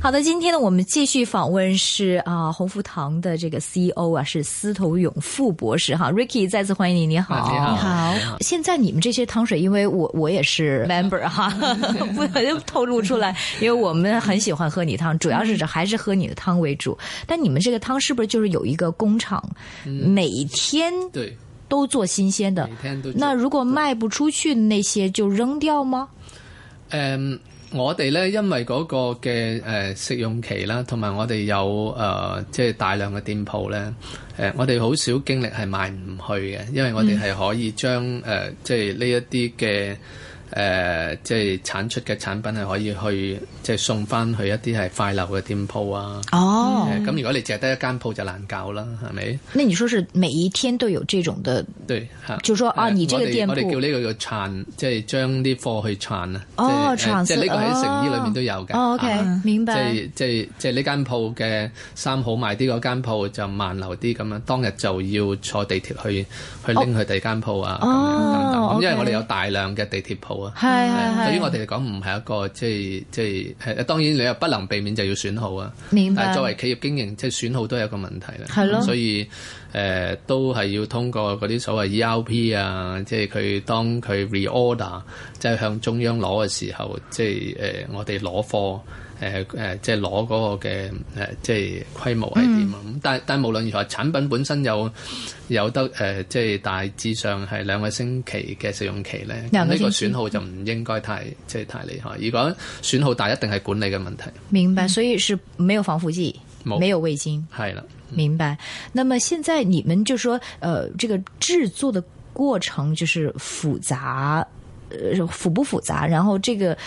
好的，今天呢，我們繼續訪問是鴻福堂的這個 CEO 啊，是司徒永富博士哈 ，Ricky 再次歡迎你，你好， 你好。 你好。現在你們這些湯水，因為我也是 member 哈，不能透露出來，因為我們很喜歡喝你湯，主要是還是喝你的湯為主。但你們這個湯是不是就是有一個工廠，每天對都做新鮮的？ 每天都做。 那如果賣不出去那些就扔掉嗎？ 我哋咧，因為嗰個嘅食用期啦，同埋我哋有即係大量嘅店鋪咧，我哋好少經歷係賣唔去嘅，因為我哋係可以將即係呢一啲嘅即係產出嘅產品係可以去即係送翻去一啲係快流嘅店鋪啊。 哦， 咁如果你淨係得一間鋪就難搞啦，係咪？ 那你說是每一天都有這種的？ 對， 就說啊，你這個店鋪我哋叫呢個叫串，即係將啲貨去串啊。 哦，串即係呢個喺成衣裏面都有嘅。 哦 OK，明白。 即係呢間鋪嘅衫好賣啲，嗰間鋪就慢流啲咁樣，當日就要坐地鐵去拎去第二間鋪啊。咁因為我哋有大量嘅地鐵鋪啊。 係對於我哋嚟講唔係一個即係當然你又不能避免就要損耗啊。 明白。 但係作為企業經營，即係損耗都係一個問題啦。 係咯。 所以都係要通過嗰啲所謂 ERP 啊，即係佢當佢 reorder 即係向中央攞嘅時候，即係我哋攞貨即係攞嗰個嘅即係規模係點啊？但係無論如何，產品本身有得即係大致上係2個星期嘅使用期咧，呢個損耗就唔應該太厲害。如果損耗大，一定係管理嘅問題。 明白，所以是沒有防腐劑，沒有味精。 係啦。 明白。那麼現在你們就說，這個製作的過程就是複雜，複不複雜？然後這個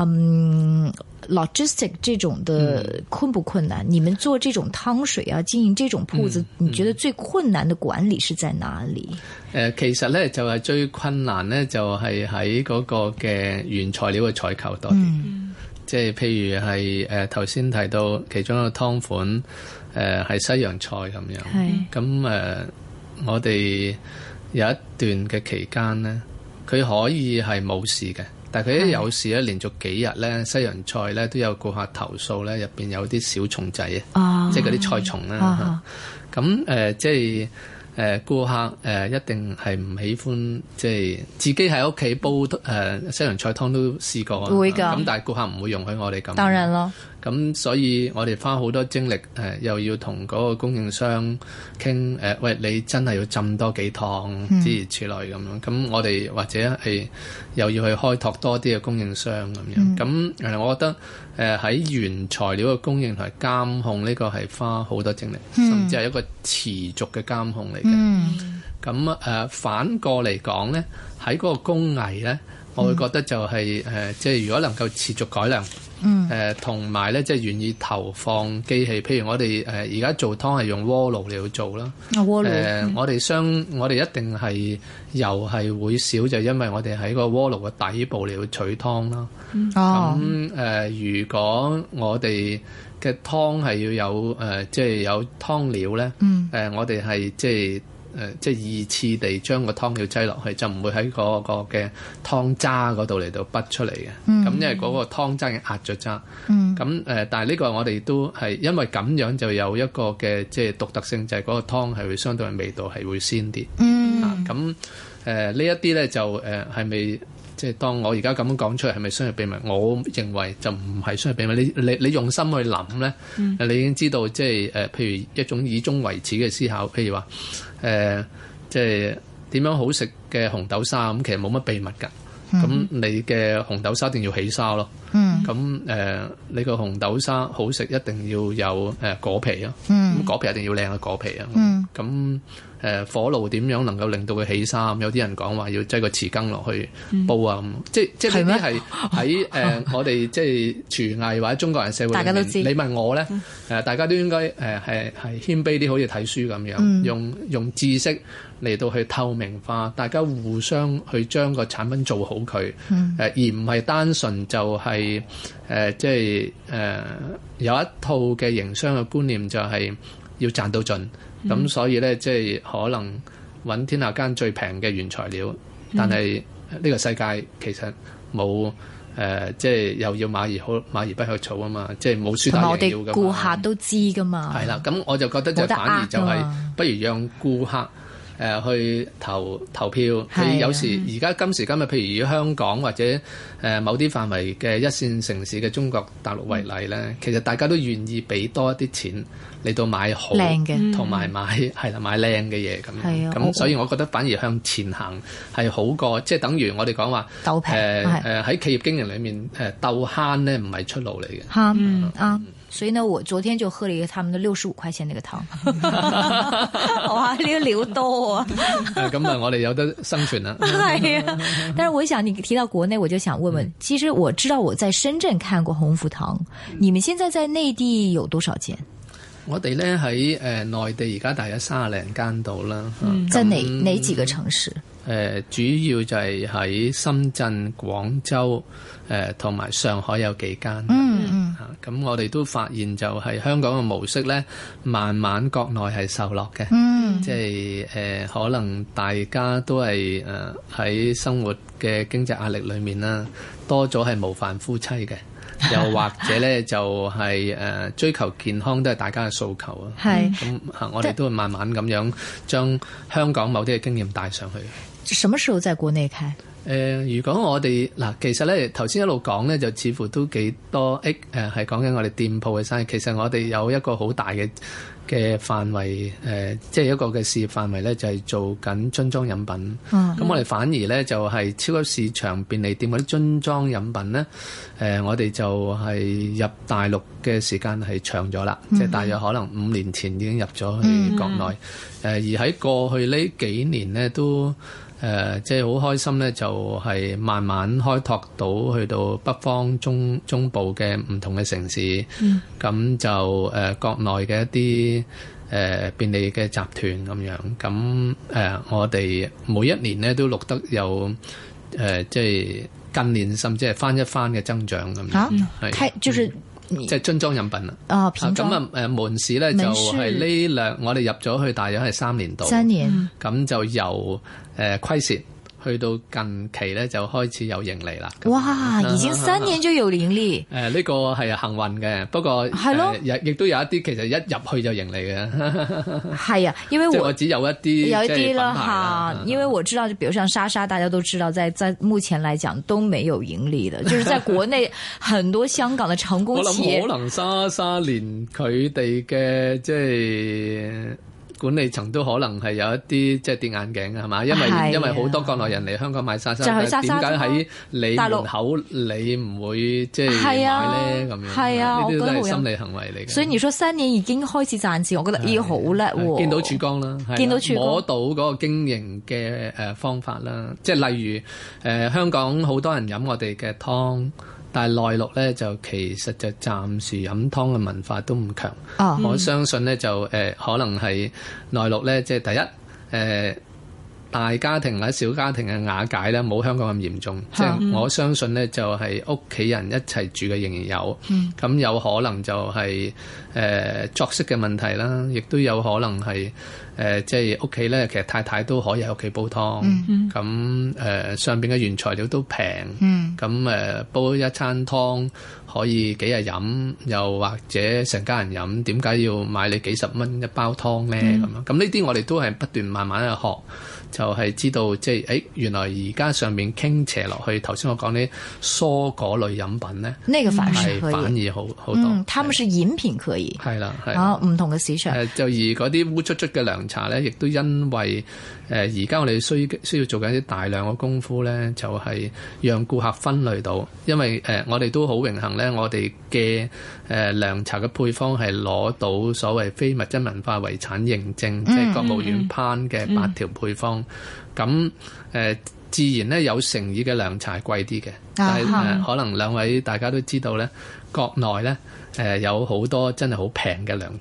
logistic 這種的困不困難？你們做這種湯水啊，經營這種鋪子，你覺得最困難的管理是在哪裡？ 其實咧就係最困難咧，就係喺嗰個嘅原材料嘅採購多啲。即係譬如係頭先提到其中一個湯款。係西洋菜咁樣，咁我哋有一段嘅期間咧，佢可以係冇事嘅，但係佢一有事咧，連續幾日咧，西洋菜咧都有顧客投訴咧，入邊有啲小蟲仔啊，即係嗰啲菜蟲啦。咁即係顧客一定係唔喜歡，即係自己喺屋企煲西洋菜湯都試過，會㗎。咁但係顧客唔會容許我哋咁。當然咯。咁所以我哋花好多精力又要同嗰個供應商傾喂，你真係要浸多幾趟諸如此類咁樣。咁我哋或者係又要去開拓多啲嘅供應商咁樣。咁我覺得喺原材料嘅供應同埋監控呢個係花好多精力，甚至係一個持續嘅監控嚟嘅。咁反過嚟講咧，喺嗰個工藝咧，我會覺得就係即係如果能夠持續改良。同埋咧，即係願意投放機器，譬如我哋而家做湯係用鍋爐嚟去做啦。鍋爐我哋一定係油係會少，就因為我哋喺個鍋爐嘅底部嚟去取湯啦。咁如果我哋嘅湯係要有即係有湯料咧，我哋係即係二次地將個湯料擠落去，就唔會喺嗰個嘅湯渣嗰度嚟到畢出嚟嘅。咁因為嗰個湯渣已經壓咗渣。咁但係呢個我哋都係因為咁樣就有一個嘅即係獨特性，就係嗰個湯係會相對味道係會鮮啲。咁呢一啲咧就係咪即係當我而家咁樣講出嚟係咪商業秘密？我認為就唔係商業秘密。你用心去諗咧，你已經知道即係譬如一種以終為始嘅思考。譬如話即係點樣好食嘅紅豆沙咁，其實冇乜秘密㗎。咁你嘅紅豆沙一定要起沙咯。咁你個紅豆沙好食一定要有果皮啊。咁果皮一定要靚嘅果皮啊。咁火爐點樣能夠令到佢起沙？有啲人講話要擠個匙羹落去煲啊。即係呢啲係喺我哋即係廚藝或者中國人社會，大家都知。你問我咧，大家都應該係謙卑啲，好似睇書咁樣，用知識嚟到去透明化，大家互相去將個產品做好佢，而唔係單純就係即係有一套嘅營商嘅觀念，就係要賺到盡。咁所以咧，即係可能揾天下間最平嘅原材料，但係呢個世界其實冇即係又要馬兒不吃草啊嘛，即係冇輸打贏要㗎嘛。 同埋我哋顧客都知噶嘛。 係啦，咁我就覺得就反而就係不如讓顧客去投票。佢有時而家今時今日，譬如以香港或者某啲範圍嘅一線城市嘅中國大陸為例咧，其實大家都願意俾多一啲錢嚟到買好靚嘅，同埋買靚嘅嘢咁。咁所以我覺得反而向前行係好過，即係等於我哋講話鬥平喺企業經營裏面鬥慳咧，唔係出路嚟嘅。 啱。所以呢，我昨天就喝了一個他們的65塊錢那個湯，哇，呢個料多啊！ 咁啊，我哋有得生存啦。 係啊，但是我想你提到國內，我就想問問，其實我知道我在深圳看過鴻福堂，你們現在在內地有多少間？ 我哋咧喺內地而家大約30零間度啦。 在哪幾個城市？ 主要就係喺深圳、廣州同埋上海有幾間。咁我哋都發現就係香港嘅模式咧，慢慢國內係受落嘅。即係可能大家都係喺生活嘅經濟壓力裏面啦，多咗係模範夫妻嘅。又或者咧就係追求健康都係大家嘅訴求啊。咁我哋都會慢慢咁樣將香港某啲嘅經驗帶上去。 什麼時候在國內開？ 如果我哋其實咧頭先一路講咧，就似乎都幾多係講緊我哋店鋪嘅生意。其實我哋有一個好大嘅範圍，即係一個嘅事業範圍咧，就係做緊樽裝飲品。咁我哋反而咧就係超級市場、便利店嗰啲樽裝飲品咧，我哋就係入大陸嘅時間係長咗啦，即係大約可能5年前已經入咗去國內。而喺過去呢幾年咧都即係好開心咧，就係慢慢開拓到去到北方中部嘅唔同嘅城市。咁就國內嘅一啲便利嘅集團咁樣。咁我哋每一年咧都錄得有即係近年甚至係翻一番嘅增長咁樣。係就是即係樽裝飲品啦。咁門市咧就係我哋入咗去大約係3年度。3年。咁就由虧蝕去到近期咧就開始有盈利啦。 哇！已經3年就有盈利。 呢個係幸運嘅，不過亦都有一啲其實一入去就盈利嘅。 係啊，因為我只有一啲啦嚇，因為我知道，比如像莎莎，大家都知道，在目前來講都沒有盈利的，就是在國內很多香港的成功企業， 我諗可能莎莎連佢哋嘅即係管理層都可能係有一啲即係跌眼鏡嘅係嘛？因為好多國內人嚟香港買莎莎，點解喺你門口你唔會即係買咧咁樣？係啊，呢啲都係心理行為嚟嘅。 所以你說3年已經開始賺錢，我覺得咦好叻喎！ 見到曙光啦，見到曙光，摸到嗰個經營嘅方法啦，即係例如香港好多人飲我哋嘅湯。但係內陸咧就其實就暫時飲湯嘅文化都唔強。我相信咧就可能係內陸咧，即係第一大家庭或者小家庭嘅瓦解咧冇香港咁嚴重。即係我相信咧就係屋企人一齊住嘅仍然有。咁有可能就係作息嘅問題啦，亦都有可能係即係屋企咧，其實太太都可以喺屋企煲湯。咁上邊嘅原材料都平。咁煲一餐湯可以幾日飲，又或者成家人飲，點解要買你幾十蚊一包湯咧？咁樣咁呢啲我哋都係不斷慢慢去學。就係知道即係原來而家上面傾斜落去，頭先我講啲蔬果類飲品咧， 呢個反而好多。 他們是飲品可以係啦， 唔同嘅市場。 就而嗰啲烏卒卒嘅涼茶咧，亦都因為而家我哋需要做緊啲大量嘅功夫咧，就係讓顧客分類到，因為我哋都好榮幸咧，我哋嘅涼茶嘅配方係攞到所謂非物質文化遺產認證，即係國務院頒嘅8條配方。咁自然咧有誠意嘅涼茶係貴啲嘅，但係可能兩位大家都知道咧，國內咧有好多真係好平嘅涼茶。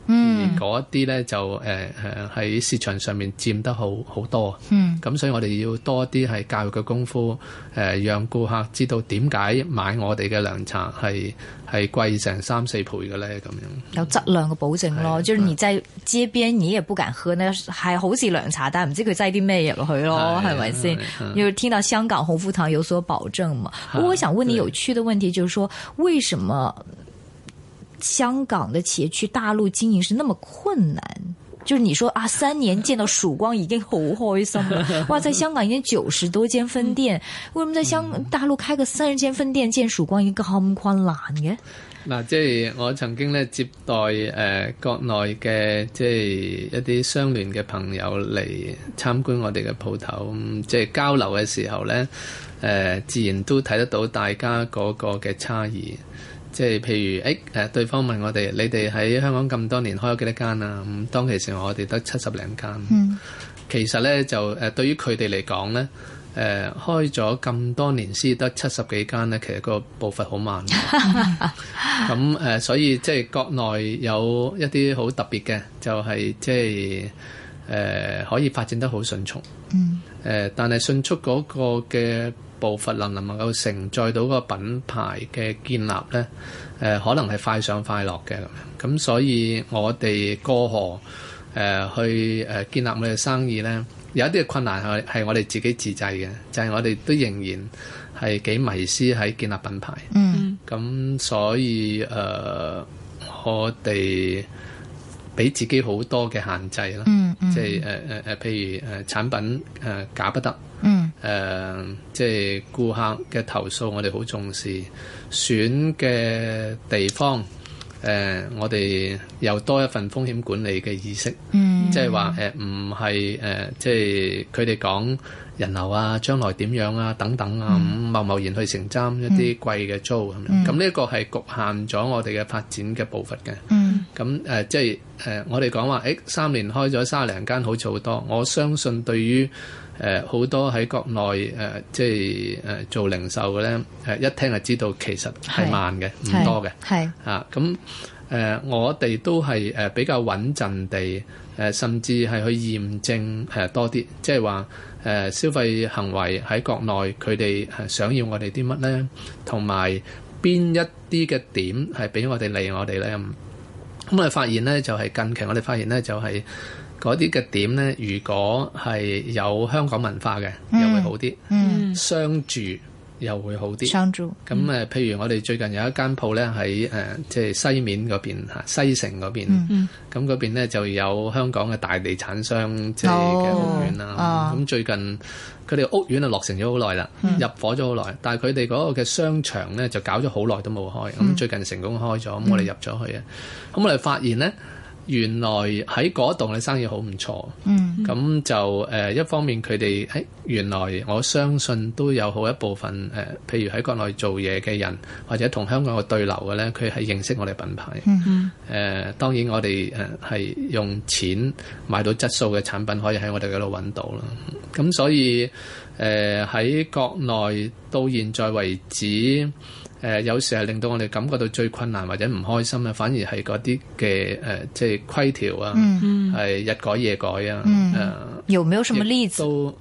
而嗰一啲咧就喺市場上面佔得好多。咁所以我哋要多啲係教育嘅功夫，讓顧客知道點解買我哋嘅涼茶係貴成3-4倍嘅咧，咁樣有質量嘅保證咯。就是你在街邊你也不敢喝呢，係好似涼茶，但係唔知佢擠啲咩入落去咯，係咪先？就是聽到香港鴻福堂有所保證嘛。不過我想問你有趣的問題，就是說為什麼香港的企業去大陸經營是那麼困難？就是你說啊，3年見到曙光已經好開心了。哇，在香港已經90多間分店，為什麼在大陸開個30間分店見曙光已經咁困難嘅？ 嗱，即係我曾經咧接待國內嘅即係一啲商聯嘅朋友嚟參觀我哋嘅鋪頭，即係交流嘅時候咧，自然都睇得到大家嗰個嘅差異。即係譬如對方問我哋：你哋喺香港咁多年開咗幾多間啊？咁當其時我哋得70零間。其實咧就對於佢哋嚟講咧，開咗咁多年先得70幾間咧，其實個步伐好慢。咁所以即係國內有一啲好特別嘅，就係即係可以發展得好迅速。但係迅速嗰個嘅步伐能唔能夠承載到個品牌嘅建立咧？可能係快上快落嘅咁樣。咁所以我哋過河去建立我哋嘅生意咧，有一啲嘅困難係我哋自己自製嘅，就係我哋都仍然係幾迷思喺建立品牌。咁所以我哋俾自己好多嘅限制啦。即係譬如產品假不得。即係顧客嘅投訴，我哋好重視。選嘅地方，我哋又多一份風險管理嘅意識。即係話唔係即係佢哋講人流啊、將來點樣啊等等啊，咁貿貿然去承擔一啲貴嘅租咁樣。咁呢一個係局限咗我哋嘅發展嘅步伐嘅。咁即係我哋講話3年開咗30零間，好似好多。我相信對於好多喺國內即係做零售嘅咧，一聽就知道其實係慢嘅，唔多嘅。咁我哋都係比較穩陣地甚至係去驗證多啲，即係話消費行為喺國內佢哋想要我哋啲乜咧，同埋邊一啲嘅點係俾我哋利我哋咧。咁我哋發現咧，就係近期我哋發現咧，就係嗰啲嘅點咧，如果係有香港文化嘅，又會好啲。商住又會好啲。商住。咁譬如我哋最近有一間鋪咧喺即係西面嗰邊西城嗰邊。咁嗰邊咧就有香港嘅大地產商即係嘅屋苑啦。咁最近佢哋屋苑啊落成咗好耐啦，入伙咗好耐，但係佢哋嗰個嘅商場咧就搞咗好耐都冇開。咁最近成功開咗，咁我哋入咗去啊。咁我哋發現咧，原來喺嗰棟嘅生意好唔錯。咁就一方面佢哋原來我相信都有好一部分譬如喺國內做嘢嘅人，或者同香港嘅對流嘅咧，佢係認識我哋品牌。當然我哋係用錢買到質素嘅產品，可以喺我哋嗰度揾到啦。咁所以喺國內到現在為止，有時係令到我哋感覺到最困難或者唔開心啊，反而係嗰啲嘅即係規條啊，係日改夜改啊。 有沒有什麼例子？ 都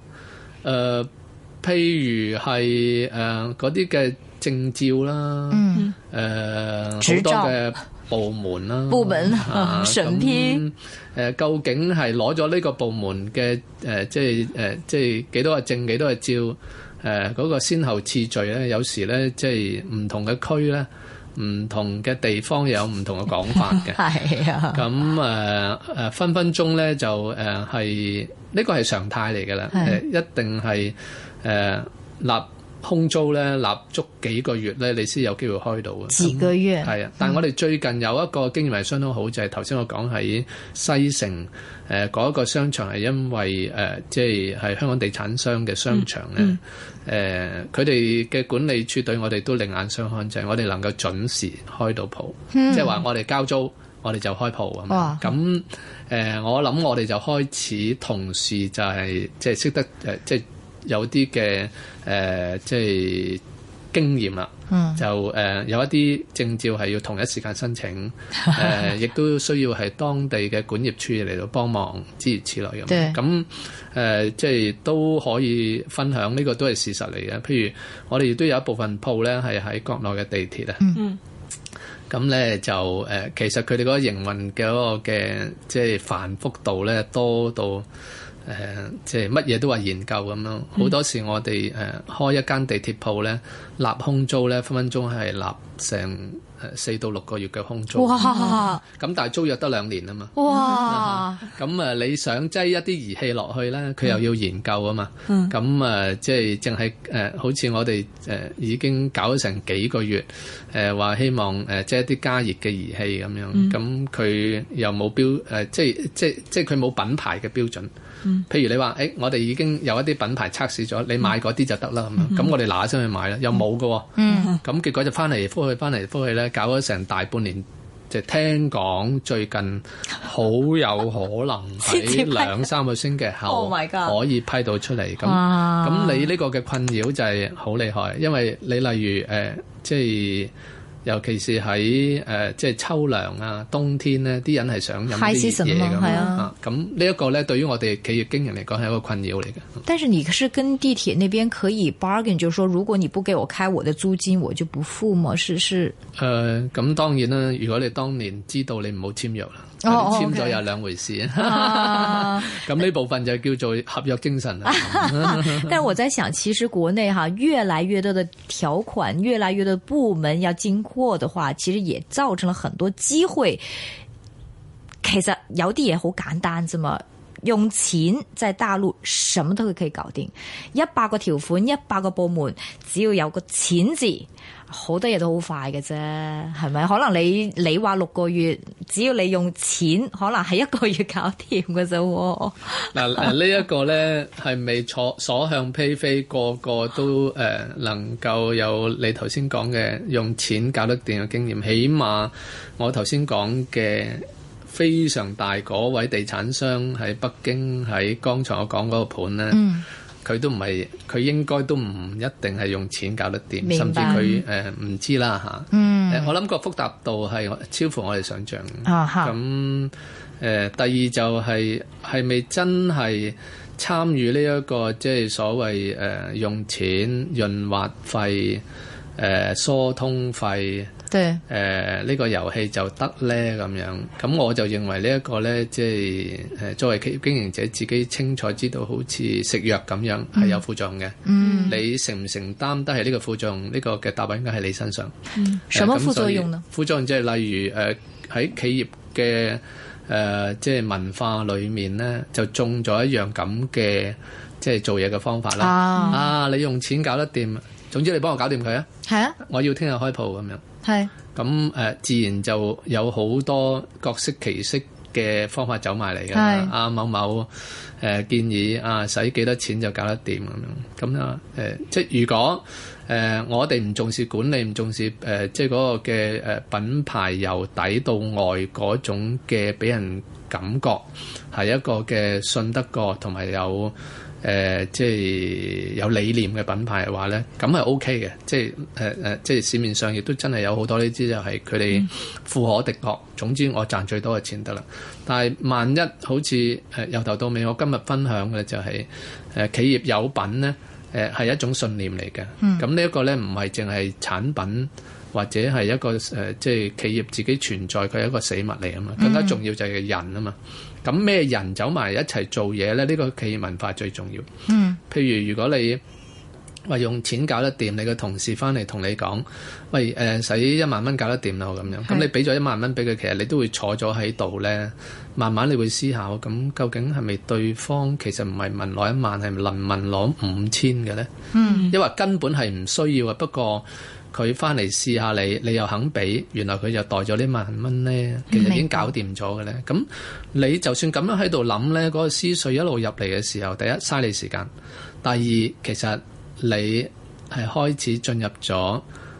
譬如係嗰啲嘅證照啦，好多嘅部門啦，部門審批究竟係攞咗呢個部門嘅即係幾多個證幾多個照？嗰個先後次序咧，有時咧即係唔同嘅區咧，唔同嘅地方有唔同嘅講法嘅。係啊。咁分分鐘咧就係呢個係常態嚟㗎啦。一定係立空租咧，立足幾個月咧，你先有機會開到嘅。幾個月。係啊，但係我哋最近有一個經驗係相當好，就係頭先我講喺西城嗰一個商場係因為即係香港地產商嘅商場咧，佢哋嘅管理處對我哋都另眼相看，就係我哋能夠準時開到鋪，即係話我哋交租，我哋就開鋪啊嘛。咁我諗我哋就開始同時就係即係識得即係有啲嘅即係經驗啦。 就有一啲證照係要同一時間申請，亦都需要係當地嘅管業處嚟到幫忙，諸如此類咁。咁即係都可以分享，呢個都係事實嚟嘅。譬如我哋亦都有一部分鋪咧係喺國內嘅地鐵啊。咁咧就其實佢哋嗰個營運嘅嗰個嘅即係繁複度咧多到即係乜嘢都話研究咁樣。好多時我哋開一間地鐵鋪咧，立空租咧分分鐘係立成4到6個月嘅空租。 哇！ 咁但係租約得2年啊嘛。 哇！ 咁你想擠一啲儀器落去咧，佢又要研究啊嘛。咁即係淨係好似我哋已經搞咗成幾個月，話希望即係一啲加熱嘅儀器咁樣。咁佢又冇標即係佢冇品牌嘅標準。譬如你話我哋已經有一啲品牌測試咗，你買嗰啲就得啦咁樣。咁我哋嗱嗱聲去買啦，又冇㗎喎。咁結果就翻嚟覆去咧，搞咗成大半年。就聽講最近好有可能喺2-3個星期後可以批到出嚟。咁你呢個嘅困擾就係好厲害，因為你例如即係尤其是喺即係秋涼啊、冬天咧，啲人係想飲啲熱嘢咁。咁呢一個咧，對於我哋企業經營嚟講係一個困擾嚟嘅。 但是你是跟地鐵那邊可以 bargain， 就是說如果你不給我開我的租金，我就不付嗎？是咁當然啦，如果你當年知道你唔好簽約啦。簽咗有2回事。咁呢部分就叫做合約精神啦。 但是我在想，其實國內越來越多的條款，越來越多的部門要經過的話，其實也造成了很多機會。其實有啲嘢好簡單啫嘛，用錢在大陸什麼都可以搞定。100個條款，100個部門，只要有個錢字，好多嘢都好快嘅啫，係咪？可能你話6個月，只要你用錢，可能係1個月搞掂嘅啫。 嗱呢一個咧係咪所向披靡，個個都能夠有你頭先講嘅用錢搞得掂嘅經驗？起碼我頭先講嘅非常大嗰位地產商喺北京，喺剛才我講嗰個盤咧。佢都唔係，佢應該都唔一定係用錢搞得掂，甚至佢唔知啦嚇。我諗個複雜度係超乎我哋想象。咁第二就係咪真係參與呢一個即係所謂用錢潤滑費、疏通費？呢個遊戲就得咧咁樣，咁我就認為呢一個咧，即係作為企業經營者，自己清楚知道，好似食藥咁樣係有副作用嘅。你承唔承擔得係呢個副作用？呢個嘅答案應該喺你身上。 什麼副作用呢？ 副作用即係例如喺企業嘅即係文化裏面咧，就中咗一樣咁嘅即係做嘢嘅方法啦。你用錢搞得掂，總之你幫我搞掂佢啊！係啊，我要聽日開鋪咁樣。係咁自然就有好多各式其式嘅方法走埋嚟㗎。某某建議使幾多錢就搞得掂咁樣。即係如果我哋唔重視管理，唔重視即係嗰個嘅品牌由底到外嗰種嘅俾人感覺係一個嘅信得過同埋有即係有理念嘅品牌嘅話咧，咁係 OK 嘅。即係市面上亦都真係有好多呢啲就係佢哋富可敵國。總之我賺最多嘅錢得啦。但係萬一好似由頭到尾，我今日分享嘅就係企業有品咧，係一種信念嚟嘅。咁呢一個咧唔係淨係產品或者係一個即係企業自己存在，佢係一個死物嚟啊嘛。更加重要就係人啊嘛。咁咩人走埋一齊做嘢咧？呢個企業文化最重要。譬如如果你話用錢搞得掂，你個同事翻嚟同你講，喂使1萬蚊搞得掂啦咁樣。咁你俾咗1萬蚊俾佢，其實你都會坐咗喺度咧，慢慢你會思考，咁究竟係咪對方其實唔係問攞1萬，係能問攞5000嘅咧？因為根本係唔需要嘅，不過佢翻嚟試下你又肯俾，原來佢就袋咗呢1萬蚊咧，其實已經搞掂咗嘅咧。咁你就算咁樣喺度諗咧，嗰個思緒一路入嚟嘅時候，第一嘥你時間，第二其實你係開始進入咗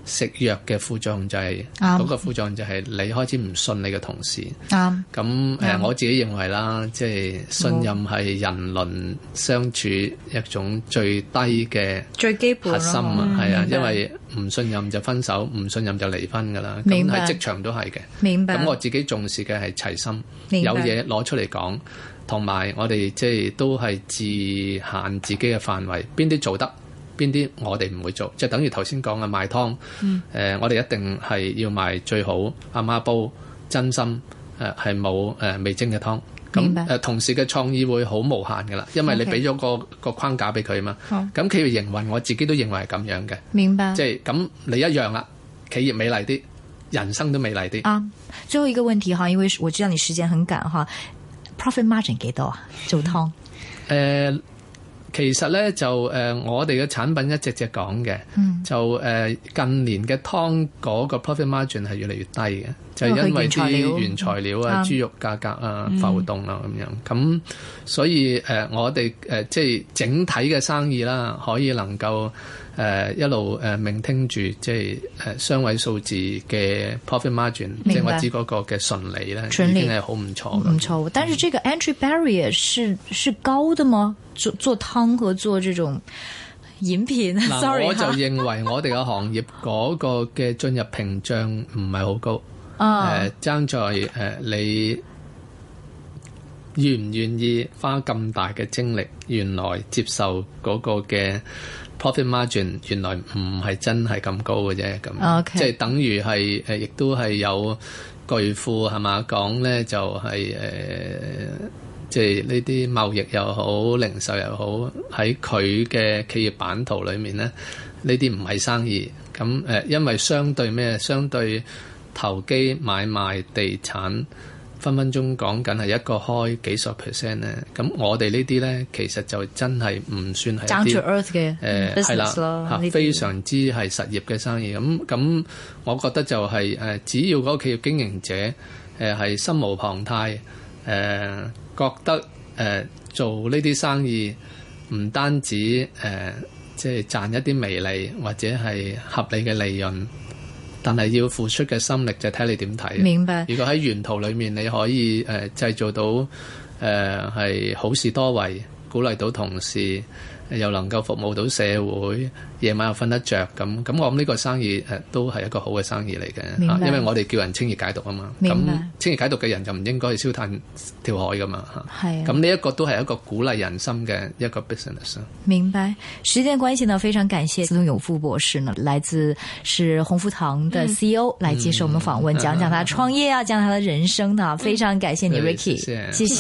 食藥嘅副作用就係嗰個副作用就係你開始唔信你嘅同事。咁我自己認為啦，即係信任係人倫相處一種最低嘅最基本核心啊，係啊，因為唔信任就分手，唔信任就離婚噶啦。咁喺職場都係嘅。 明白。 咁我自己重視嘅係齊心，有嘢攞出嚟講，同埋我哋即係都係自限自己嘅範圍，邊啲做得，邊啲我哋唔會做，即係等於頭先講嘅賣湯。我哋一定係要賣最好阿媽煲真心係冇味精嘅湯。咁同事嘅創意會好無限噶啦，因為你俾咗個框架俾佢嘛。咁企業營運，我自己都認為係咁樣嘅。 明白。 即係咁你一樣啦，企業美麗啲，人生都美麗啲。 最後一個問題哈，因為我知道你時間很趕哈。Profit margin 幾多啊？做湯？ 其實咧就我哋嘅產品一隻隻講嘅，就近年嘅湯嗰個 profit margin 係越嚟越低嘅，就係因為啲原材料啊、豬肉價格啊浮動啊咁樣。咁所以我哋即係整體嘅生意啦，可以能夠一路maintain住即係雙位數字嘅 profit margin， 即係我知嗰個嘅順利咧已經係好唔錯嘅。 唔錯，但是這個 entry barrier 是高的嗎？做湯和做這種飲品，sorry， 我就認為我哋嘅行業嗰個嘅進入屏障唔係好高。爭在你願唔願意花咁大嘅精力，原來接受嗰個嘅 profit margin 原來唔係真係咁高嘅啫。咁即係等於係亦都係有巨富係嘛講咧，就係即係呢啲貿易又好，零售又好，喺佢嘅企業版圖裏面咧，呢啲唔係生意。咁因為相對投機買賣地產分分鐘講緊係一個開幾十 percent 咧。咁我哋呢啲咧，其實就真係唔算係 down to earth 嘅係啦，非常之係實業嘅生意。咁我覺得就係只要嗰個企業經營者係心無旁貸，覺得做呢啲生意唔單止即係賺一啲微利或者係合理嘅利潤，但係要付出嘅心力就睇你點睇。 明白。 如果喺沿途裏面你可以製造到係好事多為，鼓勵到同事，又能夠服務到社會，夜晚又瞓得着，咁我諗呢個生意都係一個好嘅生意嚟嘅。因為我哋叫人清熱解毒啊嘛。咁清熱解毒嘅人就唔應該去燒炭跳海噶嘛。係。咁呢一個都係一個鼓勵人心嘅一個 business。明白。 時間關係呢，非常感謝司徒永富博士呢，來自是鴻福堂的 CEO 來接受我們訪問，講講他創業啊，講他的人生啊，非常感謝你 Ricky，謝謝。